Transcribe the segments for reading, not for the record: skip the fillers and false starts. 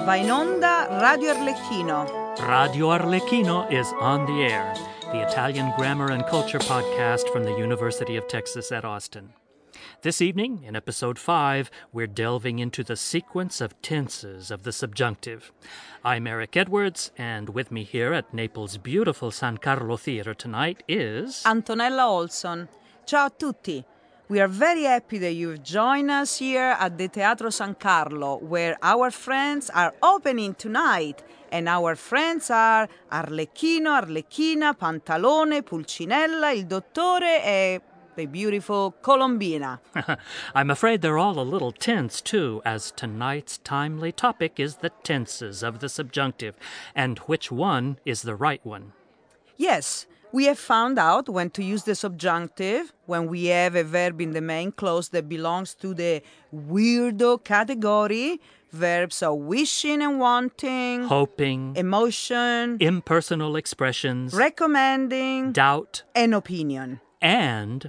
Va in onda Radio Arlecchino. Radio Arlecchino is on the air, the Italian grammar and culture podcast from the University of Texas at Austin. This evening, in episode 5, we're delving into the sequence of tenses of the subjunctive. I'm Eric Edwards, and with me here at Naples' beautiful San Carlo Theater tonight is... Antonella Olson. Ciao a tutti. We are very happy that you've joined us here at the Teatro San Carlo, where our friends are opening tonight. And our friends are Arlecchino, Arlecchina, Pantalone, Pulcinella, Il Dottore, e the beautiful Colombina. I'm afraid they're all a little tense, too, as tonight's timely topic is the tenses of the subjunctive, and which one is the right one. Yes, we have found out when to use the subjunctive when we have a verb in the main clause that belongs to the weirdo category. Verbs are wishing and wanting, Hoping, emotion, impersonal expressions, recommending, doubt, and opinion. and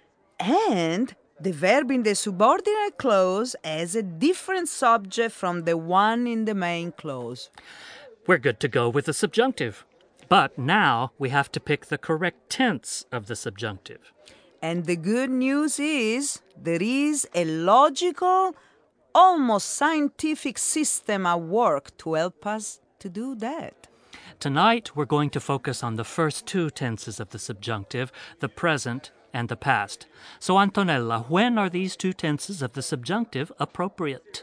The verb in the subordinate clause has a different subject from the one in the main clause. we're good to go with the subjunctive. But now we have to pick the correct tense of the subjunctive. And the good news is there is a logical, almost scientific system at work to help us to do that. Tonight we're going to focus on the first two tenses of the subjunctive, the present and the past. So Antonella, when are these two tenses of the subjunctive appropriate?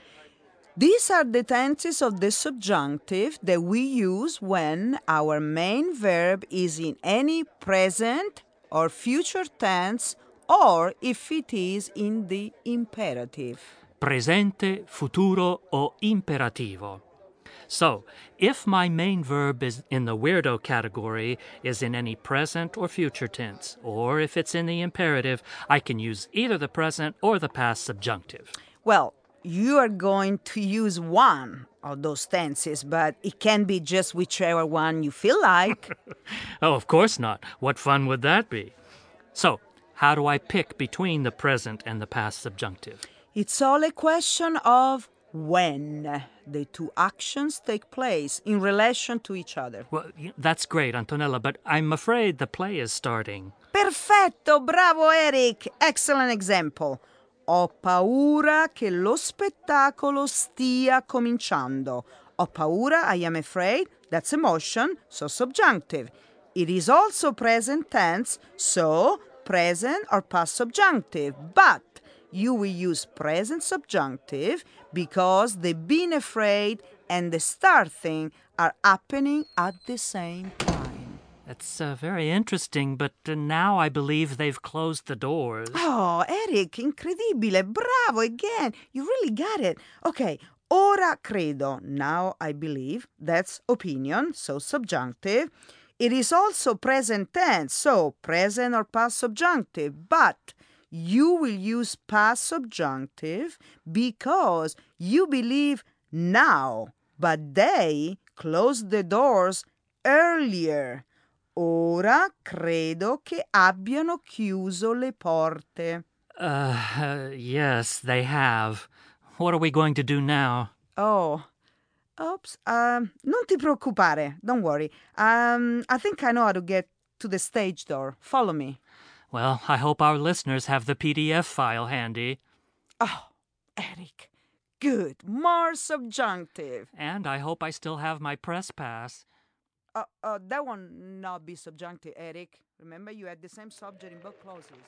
These are the tenses of the subjunctive that we use when our main verb is in any present or future tense, or if it is in the imperative. Presente, futuro o imperativo. So, if my main verb is in the weirdo category is in any present or future tense, or if it's in the imperative, I can use either the present or the past subjunctive. Well, you are going to use one of those tenses, but it can be just whichever one you feel like. Oh, of course not. What fun would that be? So, how do I pick between the present and the past subjunctive? It's all a question of when the two actions take place in relation to each other. Well, that's great, Antonella, but I'm afraid the play is starting. Perfetto, bravo Eric, excellent example. Ho paura che lo spettacolo stia cominciando. Ho paura, I am afraid, that's emotion, so subjunctive. It is also present tense, so present or past subjunctive. But you will use present subjunctive because the being afraid and the starting are happening at the same time. That's very interesting, but now I believe they've closed the doors. Oh, Eric, incredibile, bravo again. You really got it. Okay, ora credo, now I believe, that's opinion, so subjunctive. It is also present tense, so present or past subjunctive, but you will use past subjunctive because you believe now, but they closed the doors earlier. Ora credo che abbiano chiuso le porte. Yes, they have. What are we going to do now? Oh, oops. Non ti preoccupare. Don't worry. I think I know how to get to the stage door. Follow me. Well, I hope our listeners have the PDF file handy. Oh, Eric. Good. More subjunctive. And I hope I still have my press pass. That one not be subjunctive, Eric. Remember, you had the same subject in both clauses.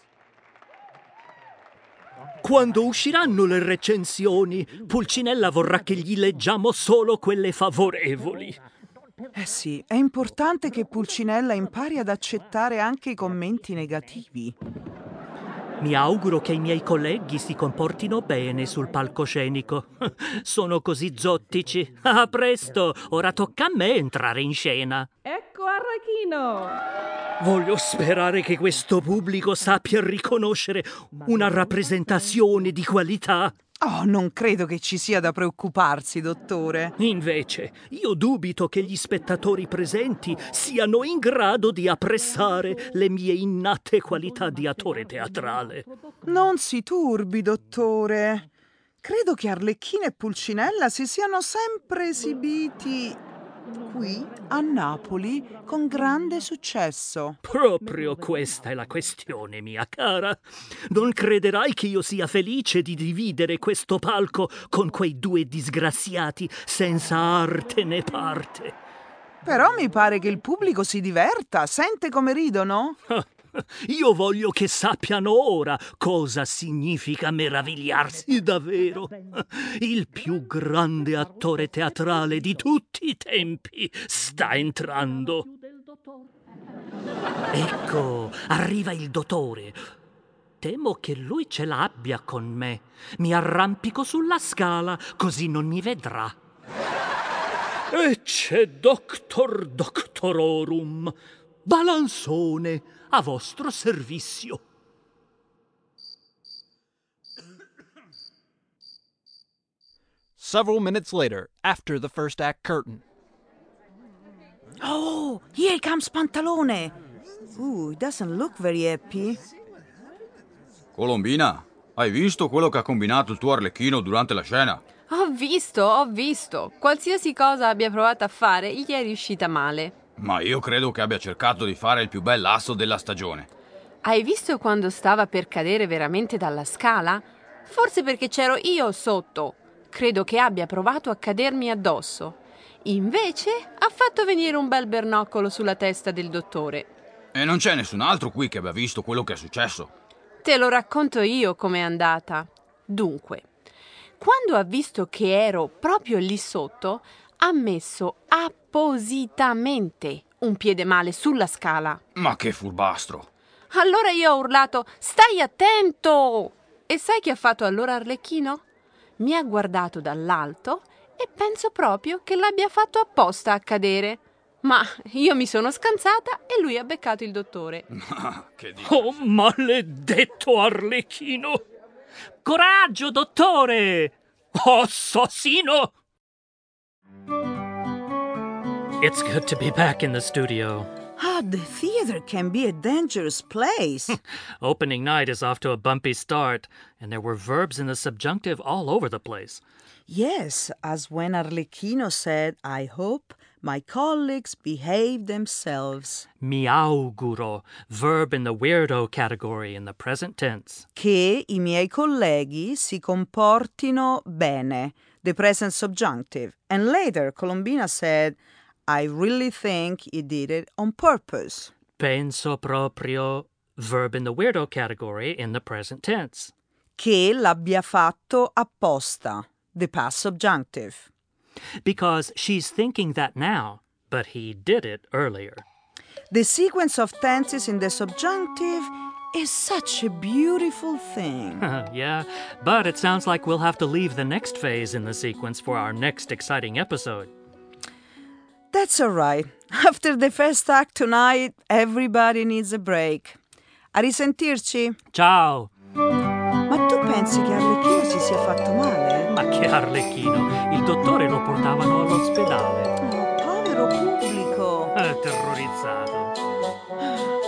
Quando usciranno le recensioni, Pulcinella vorrà che gli leggiamo solo quelle favorevoli. Eh sì, è importante che Pulcinella impari ad accettare anche i commenti negativi. Mi auguro che i miei colleghi si comportino bene sul palcoscenico. Sono così zottici. A presto, ora tocca a me entrare in scena. Ecco Arlecchino! Voglio sperare che questo pubblico sappia riconoscere una rappresentazione di qualità. Oh, non credo che ci sia da preoccuparsi, dottore. Invece, io dubito che gli spettatori presenti siano in grado di apprezzare le mie innate qualità di attore teatrale. Non si turbi, dottore. Credo che Arlecchino e Pulcinella si siano sempre esibiti qui a Napoli con grande successo. Proprio questa è la questione, mia cara. Non crederai che io sia felice di dividere questo palco con quei due disgraziati senza arte né parte. Però mi pare che il pubblico si diverta. Sente come ridono? Io voglio che sappiano ora cosa significa meravigliarsi davvero. Il più grande attore teatrale di tutti i tempi sta entrando. Ecco, arriva il dottore. Temo che lui ce l'abbia con me. Mi arrampico sulla scala, così non mi vedrà. E c'è Doctor Doctororum, Balanzone, a vostro servizio. Several minutes later, after the first act curtain. Oh, here comes Pantalone. He doesn't look very happy. Colombina, hai visto quello che ha combinato il tuo Arlecchino durante la scena? Ho visto. Qualsiasi cosa abbia provato a fare, gli è riuscita male. Ma io credo che abbia cercato di fare il più bel asso della stagione. Hai visto quando stava per cadere veramente dalla scala? Forse perché c'ero io sotto. Credo che abbia provato a cadermi addosso. Invece ha fatto venire un bel bernoccolo sulla testa del dottore. E non c'è nessun altro qui che abbia visto quello che è successo. Te lo racconto io com'è andata. Dunque, quando ha visto che ero proprio lì sotto, ha messo appositamente un piede male sulla scala. Ma che furbastro! Allora io ho urlato: «Stai attento!» E sai che ha fatto allora Arlecchino? Mi ha guardato dall'alto e penso proprio che l'abbia fatto apposta a cadere. Ma io mi sono scansata e lui ha beccato il dottore. Che Oh, maledetto Arlecchino! Coraggio, dottore! Oh, assassino! It's good to be back in the studio. The theater can be a dangerous place. Opening night is off to a bumpy start, and there were verbs in the subjunctive all over the place. Yes, as when Arlecchino said, I hope my colleagues behave themselves. Mi auguro, verb in the weirdo category in the present tense. Che i miei colleghi si comportino bene, the present subjunctive. And later, Colombina said, I really think he did it on purpose. Penso proprio, verb in the weirdo category in the present tense. Che l'abbia fatto apposta, the past subjunctive. Because she's thinking that now, but he did it earlier. The sequence of tenses in the subjunctive is such a beautiful thing. Yeah, but it sounds like we'll have to leave the next phase in the sequence for our next exciting episode. That's all right. After the first act tonight, everybody needs a break. A risentirci. Ciao! Ma tu pensi che Arlecchino si sia fatto male? Ma che Arlecchino! Il dottore lo portavano all'ospedale. Oh, povero pubblico. Terrorizzato.